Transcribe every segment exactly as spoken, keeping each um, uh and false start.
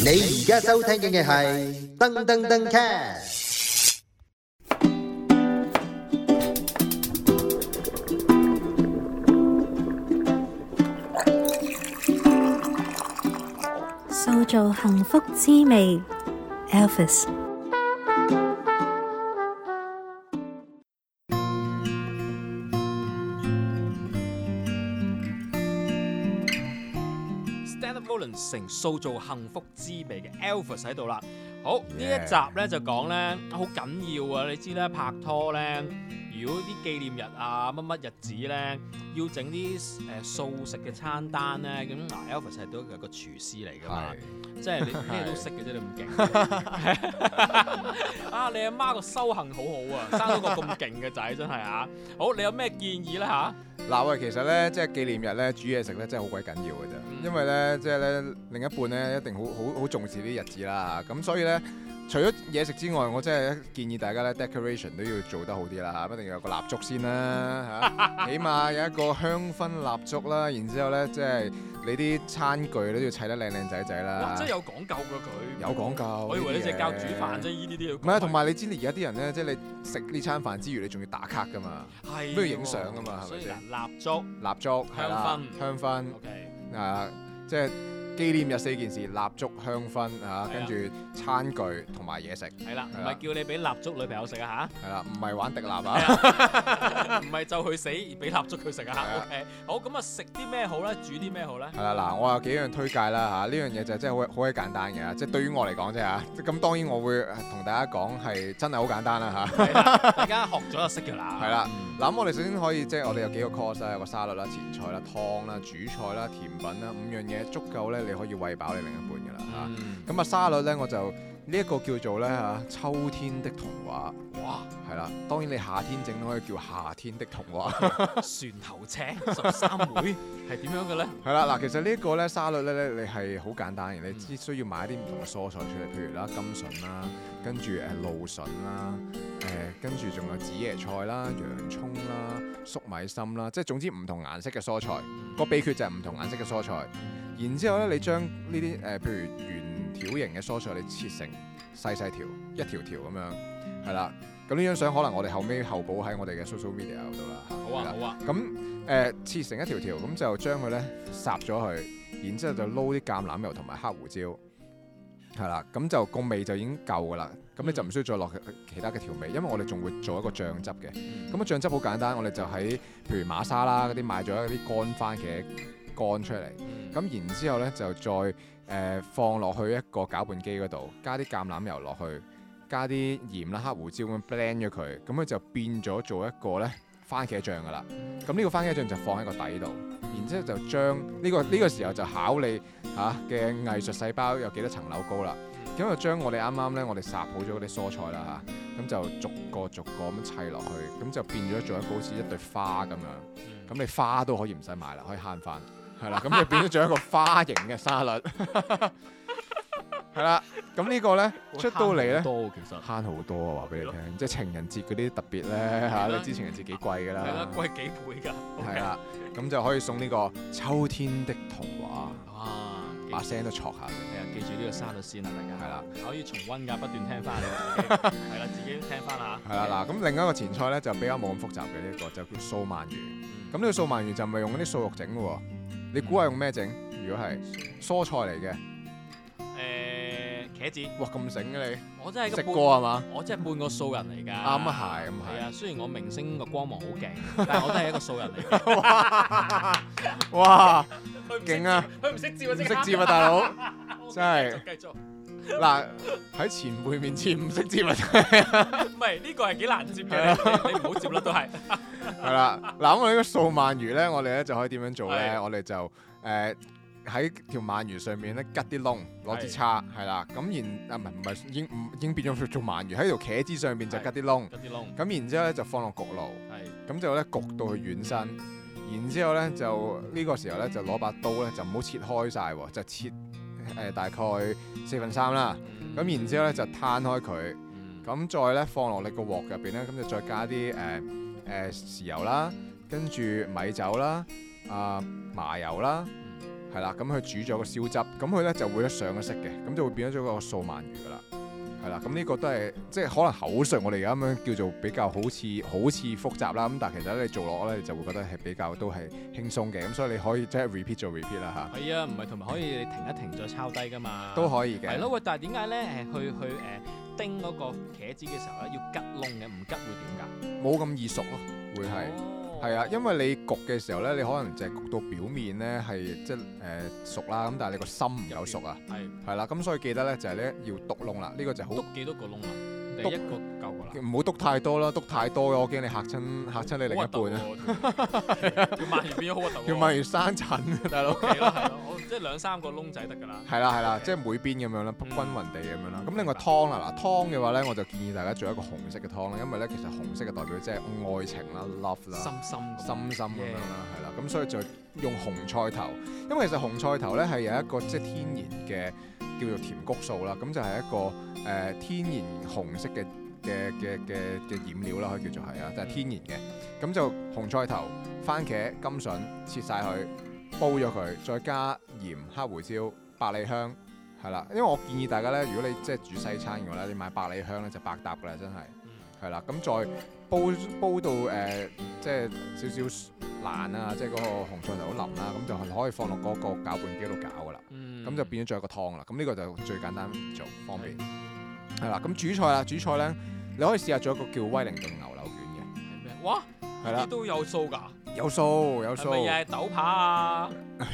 你而家收聽嘅係噔噔噔 cast。 塑造幸福滋味 Elvis。 成塑造幸福滋味嘅 Elvis 喺度啦。好，呢一集咧就講咧好緊要啊！你知咧拍拖咧，如果啲紀念日啊乜乜日子咧，要整啲誒素食嘅餐單咧，咁嗱 Elvis 係都係個廚師嚟㗎嘛，即係你咩都識嘅啫，你咁勁啊！你阿媽個修行好好啊，生到個咁勁嘅仔真係啊！好，你有咩建議咧嚇？ 嗱喂，其實咧，即係紀念日咧，煮嘢食咧，真係好鬼緊要嘅啫。嗯、因為咧，即係咧，另一半咧一定好好好重視呢啲日子啦。咁所以咧，除咗嘢食之外，我真係建議大家咧 decoration 都要做得好啲啦，一定要有個蠟燭先啦嚇，起碼有一個香薰蠟燭啦。然之後咧，即係你啲餐具都要砌得靚靚仔仔啦。 哇！真係有講究㗎佢。 有講究。 我以為你淨係教煮飯啫，呢啲都要。 唔係啊，同埋你知你而家啲人咧，即係你食呢餐飯之餘，你仲要打卡㗎嘛， 係都要影相㗎嘛，係咪先？ 蠟燭、 蠟燭、 香薰、 香薰 ，OK， 啊，即係紀念日四件事：蠟燭、香薰啊，跟住餐具同埋嘢食。係啦， 唔係叫你俾蠟燭女朋友食啊嚇。 係啦，唔係玩滴蠟啊， 唔係就去死俾蠟燭佢食啊。OK，好，咁啊食啲咩好咧？煮啲咩好咧？ 係啦，嗱，我有幾樣推介啦嚇，呢樣嘢就真係好好鬼簡單嘅，即係對於我嚟講啫嚇。咁當然我會同大家講係真係好簡單啦嚇。 大家學咗就識㗎啦。 係啦，嗱咁我哋首先可以即係我哋有幾個 course 啦，有個沙律啦、前菜啦、湯啦、主菜啦、甜品啦，五樣嘢足夠咧，你可以餵飽你另一半㗎啦嚇。咁啊沙律咧我就呢一個叫做咧嚇秋天的童話。哇！係啦，當然你夏天整都可以叫夏天的童話。 船頭尺十三妹係點樣嘅咧？ 係啦，嗱，其實呢一個咧沙律咧，你係好簡單嘅，你只需要買一啲唔同嘅蔬菜出嚟，譬如啦甘筍啦，跟住誒露筍啦，誒跟住仲有紫椰菜啦、洋葱啦、粟米芯啦，即係總之唔同顏色嘅蔬菜。個秘訣就係唔同顏色嘅蔬菜。然之後咧，你將呢啲誒譬如圓條形嘅蔬菜，你切成細細條，一條條咁樣，係啦。咁呢張相可能我哋後尾後補喺我哋嘅 social media 嗰度啦。 好啊，好啊。 咁誒、呃、切成一條條，咁就將佢咧烚咗佢，然之後就撈啲橄欖油同埋黑胡椒，係啦。咁就個味就已經夠噶啦。咁你就唔需要再落其他嘅調味，因為我哋仲會做一個醬汁嘅。咁個醬汁好簡單，我哋就喺譬如馬莎啦嗰啲買咗一啲乾番茄乾出嚟，咁、嗯、然之後咧就再誒、呃、放落去一個攪拌機嗰度，加啲橄欖油落去。加啲鹽啦、黑胡椒咁 blend 咗佢，咁佢就變咗做一個咧番茄醬噶啦。咁呢個番茄醬就放喺個底度，然之後就將呢、呢個呢、呢個時候就考你嚇嘅藝術細胞有幾多層樓高啦。咁就將我哋啱啱咧我哋烚好咗嗰啲蔬菜啦嚇，咁就逐個逐個咁砌落去，咁就變咗做一個好似一對花咁樣。咁你花都可以唔使買啦，可以慳翻，係啦。咁就變咗做一個花形嘅沙律。係啦，咁呢個咧出到嚟咧， 多其實慳好多啊！話俾你聽，即係情人節嗰啲特別咧嚇，你知情人節幾貴㗎啦？ 係啦，貴幾倍㗎。 係啦，咁就可以送呢個秋天的童話。 哇！ 把聲都錯下嘅。 係啊，記住呢個沙律先啊，大家。 係啦， 可以重溫㗎，不斷聽翻嚟。係啦，自己聽翻下。 係啦，嗱，咁另一個前菜咧就比較冇咁複雜嘅呢一個，就叫素鰻魚。咁呢個素鰻魚就唔係用嗰啲素肉整嘅喎，你估下用咩整？如果係蔬菜嚟嘅。茄子，哇咁醒嘅你，我真係食過係嘛？我真係半個素人嚟㗎。啱啊係，咁係。係啊，雖然我明星個光芒好勁，但係我都係一個素人嚟㗎。哇！勁啊！佢唔識接啊，唔識接啊，大佬，真係。繼續。嗱喺前輩面前唔識接啊，真係。唔係呢個係幾難接嘅，你唔好接啦都係。係啦，嗱咁我呢個素鰻魚咧，我哋咧就可以點樣做咧？我哋就誒。喺條鰻魚上面咧，吉啲窿，攞支叉，係啦，咁然啊唔係唔係已經唔已經變咗做鰻魚喺條茄子上邊就吉啲窿，吉啲窿，咁然之後咧就放落焗爐，咁就咧焗到佢軟身，然之後咧就呢、呢個時候咧就攞把刀咧就唔好切開晒喎，就切誒、呃、大概四分三啦，咁、嗯、然之後咧就攤開佢，咁、嗯、再咧放落你個鑊入邊咧，咁就再加啲誒誒豉油啦，跟住米酒啦，啊、呃、麻油啦。 係啦，咁佢煮咗個燒汁，咁佢咧就會咧上咗色嘅，咁就會變咗咗個素鰻魚噶啦。係啦，咁呢個都係即係可能口述我哋而家咁樣叫做比較好似好似複雜啦，咁但係其實你做落咧你就會覺得係比較都係輕鬆嘅，咁所以你可以即係 repeat 做 repeat 啦嚇。 係啊，唔係同埋可以你停一停再抄低㗎嘛。 都可以嘅。 係咯，喂，但係點解咧誒去去誒叮嗰個茄子嘅時候咧要吉窿嘅？唔吉會點㗎？ 冇咁易熟咯，會係。係啊，因為你焗嘅時候咧，你可能就係焗到表面咧係即係誒熟啦，咁但係你個心唔夠熟啊。係。係啦，咁所以記得咧就係咧要篤窿啦，呢個就好。 篤幾多個窿啊？第一個夠㗎啦。 唔好篤太多啦，篤太多我驚你嚇親嚇親你另一半啊。 條鰻魚變咗好核突喎。 條鰻魚生疹，大佬。 係咯係咯，即係兩三個窿仔得㗎啦。 係啦係啦，即係每邊咁樣啦，均勻地咁樣啦。咁另外湯啦，嗱湯嘅話咧，我就建議大家做一個紅色嘅湯啦，因為咧其實紅色嘅代表即係愛情啦 ，love 啦， 深深深深咁樣啦，係啦。咁所以就用紅菜頭，因為其實紅菜頭咧係有一個即係天然嘅叫做甜谷素啦，咁就係一個誒天然紅色嘅嘅嘅嘅嘅染料啦，可以叫做係啊，就係天然嘅。咁就紅菜頭、番茄、甘筍切晒佢，煲咗佢，再加鹽、黑胡椒、百里香，係啦。因為我建議大家咧，如果你即係煮西餐嘅話咧，你買百里香咧就百搭㗎啦，真係係啦。咁再煲煲到誒、呃、即係少少爛啊，即係嗰個紅菜頭好腍啦，咁就可以放落嗰個攪拌機度攪㗎啦。咁、嗯、就變咗做一個湯啦。咁呢個就最簡單做，方便係啦。咁煮菜啦，煮菜咧你可以試下做一個叫威靈頓牛柳卷嘅。 係咩？哇！係啦，都有數㗎。有數有數。係咪又係豆扒啊？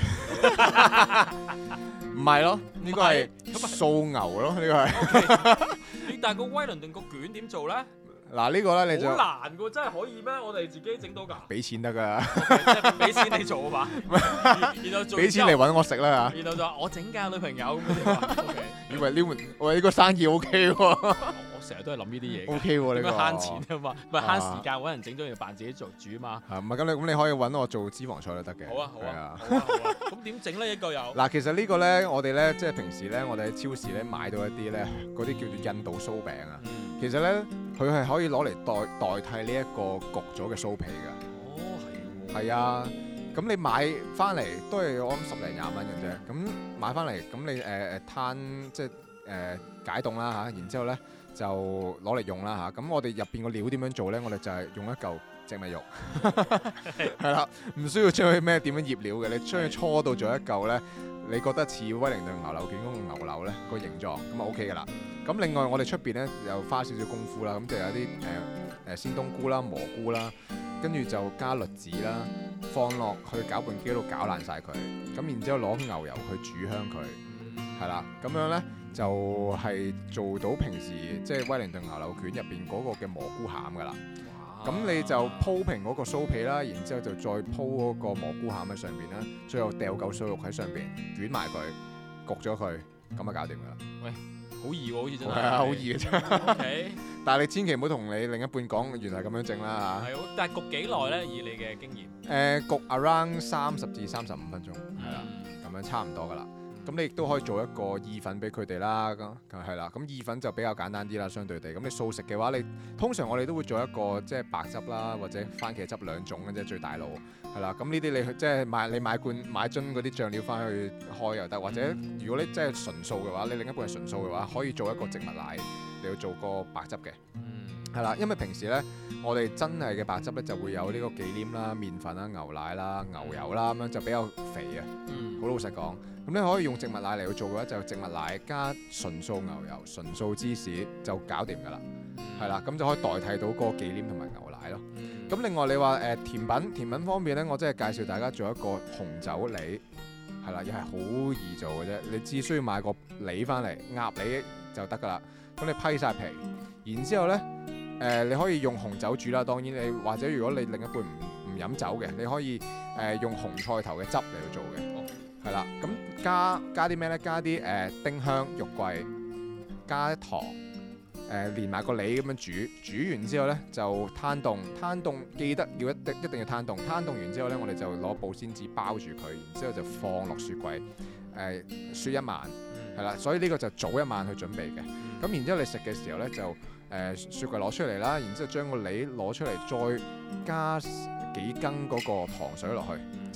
唔係咯，呢個係素牛咯，呢個係。 但係個威倫頓個卷點做咧？ 嗱呢個咧你就好難㗎，真係可以咩？我哋自己整到㗎？ 俾錢得㗎， 即係俾錢你做啊嘛。然後做俾錢嚟揾我食啦嚇。 然後就話我整㗎女朋友咁樣。 以為呢門喂呢個生意 O K 喎。 成日都係諗呢啲嘢 O K 喎，呢個慳錢啊嘛，唔係慳時間揾人整咗，要扮自己做煮啊嘛。 係唔係咁你咁你可以揾我做脂肪菜都得嘅。 好啊好啊好啊好啊。咁點整咧？一個有嗱，其實呢個咧，我哋咧即係平時咧，我哋喺超市咧買到一啲咧嗰啲叫做印度酥餅啊。其實咧，佢係可以攞嚟代代替呢一個焗咗嘅酥皮㗎。 哦，係喎。 係啊，咁你買翻嚟都係我諗十零廿蚊嘅啫。咁買翻嚟咁你誒誒攤即係誒解凍啦嚇，然之後咧。就攞嚟用啦嚇，咁我哋入邊個料點樣做咧？我哋就係用一嚿植物肉，係啦，唔需要將佢咩點樣醃料嘅，你將佢搓到做一嚿咧，你覺得似威靈頓牛柳卷嗰個牛柳咧個形狀，咁啊 OK 噶啦。咁另外我哋出邊咧又花少少功夫啦，咁就有啲誒誒鮮冬菇啦、蘑菇啦，跟住就加栗子啦，放落去攪拌機度攪爛晒佢，咁然之後攞牛油去煮香佢，係啦，咁樣咧。就係做到平時即係威靈頓牛柳卷入邊嗰個嘅蘑菇餡噶啦，咁你就鋪平嗰個酥皮啦，然之後就再鋪嗰個蘑菇餡喺上邊啦，最後掉嚿碎肉喺上邊捲埋佢，焗咗佢，咁啊搞掂噶啦。 喂，好易喎，好似真係。 係啊，好易嘅啫。 OK。 但係你千祈唔好同你另一半講，原來咁樣整啦嚇。 係，但係焗幾耐咧？以你嘅經驗。 誒，焗 around 三十至三十五分鐘，係啦，咁樣差唔多噶啦。咁你亦都可以做一個意粉俾佢哋啦，咁係啦。咁意粉就比較簡單啲啦，相對地。咁你素食嘅話，你通常我哋都會做一個即係白汁啦，或者番茄汁兩種嘅啫，最大路係啦。咁呢啲你即係買你買罐買樽嗰啲醬料翻去開又得，或者如果你真係純素嘅話，你另一半係純素嘅話，可以做一個植物奶，你要做個白汁嘅。係啦，因為平時咧，我哋真係嘅白汁咧就會有呢個忌廉啦、麵粉啦、牛奶啦、牛油啦，咁樣就比較肥啊。好老實講。咁你可以用植物奶嚟去做嘅話，就植物奶加純素牛油、純素芝士就搞掂㗎啦，係啦、嗯，咁就可以代替到嗰個忌廉同埋牛奶咯。咁、嗯、另外你話誒、呃、甜品，甜品方面咧，我真係介紹大家做一個紅酒梨，係啦，又係好易做嘅啫，你只需要買個梨翻嚟，鴨梨就得㗎啦。咁你批晒皮，然之後咧誒、呃、你可以用紅酒煮啦，當然你或者如果你另一半唔唔飲酒嘅，你可以誒、呃、用紅菜頭嘅汁嚟去做嘅。係啦，咁加加啲咩咧？加啲誒、呃、丁香、肉桂，加糖，誒、呃、連埋個梨咁樣煮，煮完之後咧就攤凍，攤凍記得要一定一定要攤凍，攤凍完之後咧，我哋就攞保鮮紙包住佢，然之後就放落雪櫃，誒、呃、雪一晚，係啦，所以呢個就早一晚去準備嘅。咁然之後你食嘅時候咧就誒、呃、雪櫃攞出嚟啦，然之後將個梨攞出嚟，再加幾羹嗰個糖水落去。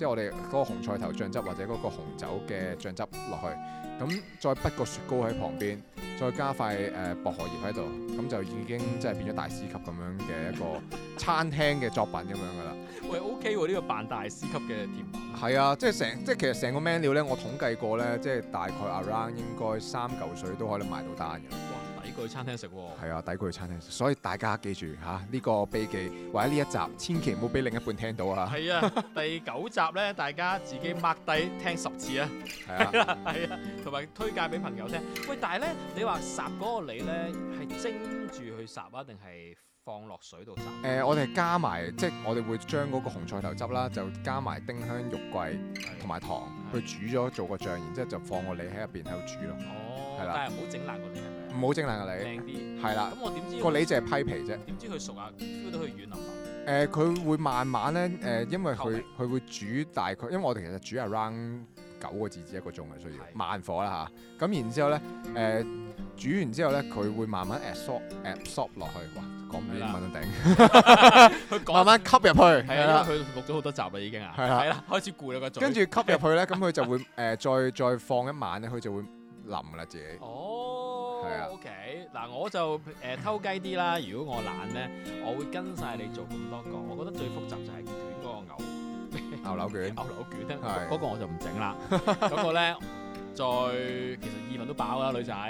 即係我哋嗰個紅菜頭醬汁或者嗰個紅酒嘅醬汁落去，咁再滗個雪糕喺旁邊，再加塊誒、呃、薄荷葉喺度，咁就已經即係變咗大師級咁樣嘅一個餐廳嘅作品咁樣噶啦。 喂 OK 喎，呢個扮大師級嘅甜品。 係啊，即係成即係其實成個 menu 咧，我統計過咧，即係大概 around 應該三嚿水都可以買到單嘅。 哇，抵過去餐廳食喎。 係啊，抵過去餐廳食，所以大家記住嚇呢、呢個秘技或者呢一集，千祈唔好俾另一半聽到啊！ 係啊，第九集咧，大家自己 mark 低聽十次啊！ 係啊， 係啊，同埋推介俾朋友聽。喂，但係咧，你話烚嗰個梨咧係蒸住去烚啊，定係放落水度烚？誒、 呃，我哋係加埋，即係我哋會將嗰個紅菜頭汁啦，就加埋丁香、肉桂同埋糖去煮咗做個醬，然之後就放個梨喺入邊喺度煮咯。 哦， 係啦， 但係唔好整爛個梨係咪？ 唔好整爛個梨， 靚啲。 係啦。 咁我點知個梨就係批皮啫。 點知佢熟啊？feel 到佢軟腍腍。 誒，佢會慢慢咧，誒，因為透明佢佢會煮大概，因為我哋其實煮 around 九個字至一個鐘嘅需要， 係慢火啦嚇。咁然之後咧，誒煮完之後咧，佢會慢慢 absorb absorb 落去。哇，講唔到英文都頂。 佢講慢慢吸入去， 係係啦啊，因為佢錄咗好多集啦已經啊。 係啦係啦，開始攰啦個嘴。 跟住吸入去咧，咁佢就會誒再再放一晚咧，佢就會腍啦自己。 哦， 係啊 OK，嗱我就誒、呃、偷雞啲啦。如果我懶咧，我會跟晒你做咁多個。我覺得最複雜就係捲嗰個牛牛柳卷， 牛柳卷咧， 係嗰個我就唔整啦。嗰個咧，再其實意粉都飽啦，女仔。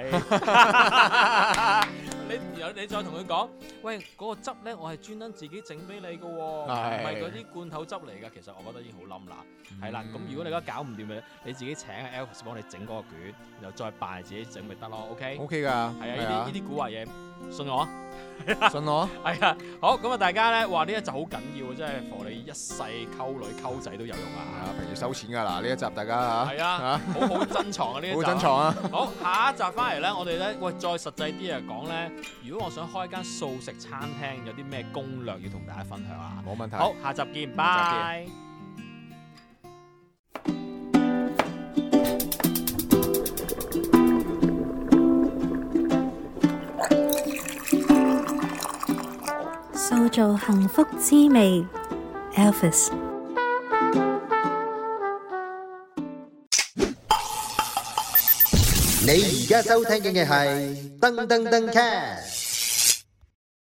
你有你再同佢講，喂嗰、個汁咧，我係專登自己整俾你嘅喎，唔係係嗰啲罐頭汁嚟㗎。其實我覺得已經好冧啦。係啦、咁如果你而家搞唔掂嘅，你自己請阿 Elvis 幫你整嗰個卷，然後再扮自己整咪得咯。OK。 O K 㗎， 係啊，呢啲呢啲古惑嘢，信我啊。 啲信我。 係啊，好咁啊！大家咧，話呢一集好緊要啊，真係幫你一世溝女溝仔都有用係啊！ 啊，平時收錢㗎嗱，呢一集大家嚇。 係啊，好好珍藏啊呢一集。 好珍藏啊！ 好，下一集翻嚟咧，我哋咧喂再實際啲啊講咧，如果我想開間素食餐廳，有啲咩攻略要同大家分享啊？ 冇問題。 好，下集見，拜。 塑造幸福滋味 Elvis。 你而家收聽嘅係噔噔噔 cast。